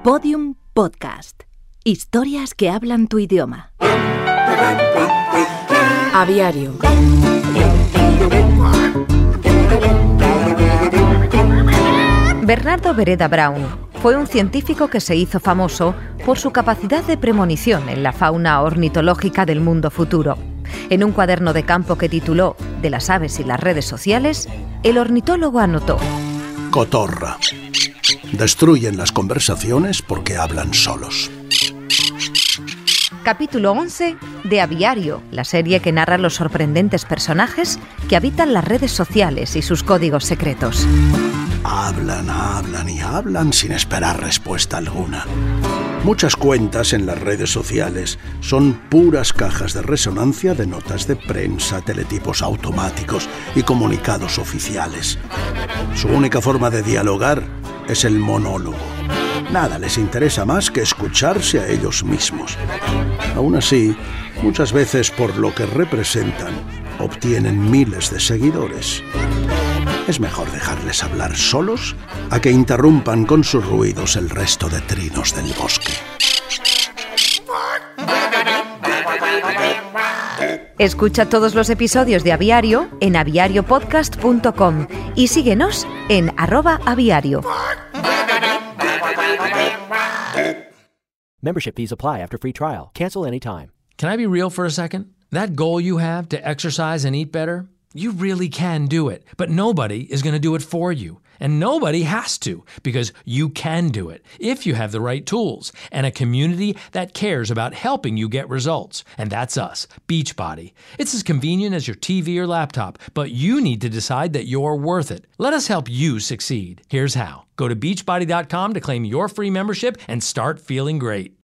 Podium Podcast. Historias que hablan tu idioma. Aviario. Bernardo Vereda Brown fue un científico que se hizo famoso por su capacidad de premonición en la fauna ornitológica del mundo futuro. En un cuaderno de campo que tituló De las aves y las redes sociales, el ornitólogo anotó: Cotorra. Destruyen las conversaciones porque hablan solos. Capítulo 11 de Aviario, la serie que narra los sorprendentes personajes que habitan las redes sociales y sus códigos secretos. Hablan y hablan sin esperar respuesta alguna. Muchas cuentas en las redes sociales son puras cajas de resonancia de notas de prensa, teletipos automáticos y comunicados oficiales. Su única forma de dialogar es el monólogo. Nada les interesa más que escucharse a ellos mismos. Aún así, muchas veces por lo que representan, obtienen miles de seguidores. Es mejor dejarles hablar solos a que interrumpan con sus ruidos el resto de trinos del bosque. Escucha todos los episodios de Aviario en aviariopodcast.com y síguenos en @aviario. Membership fees apply after free trial. Cancel anytime. Can I be real for a second? That goal you have to exercise and eat better, you really can do it. But nobody is going to do it for you. And nobody has to, because you can do it if you have the right tools and a community that cares about helping you get results. And that's us, Beachbody. It's as convenient as your TV or laptop, but you need to decide that you're worth it. Let us help you succeed. Here's how. Go to beachbody.com to claim your free membership and start feeling great.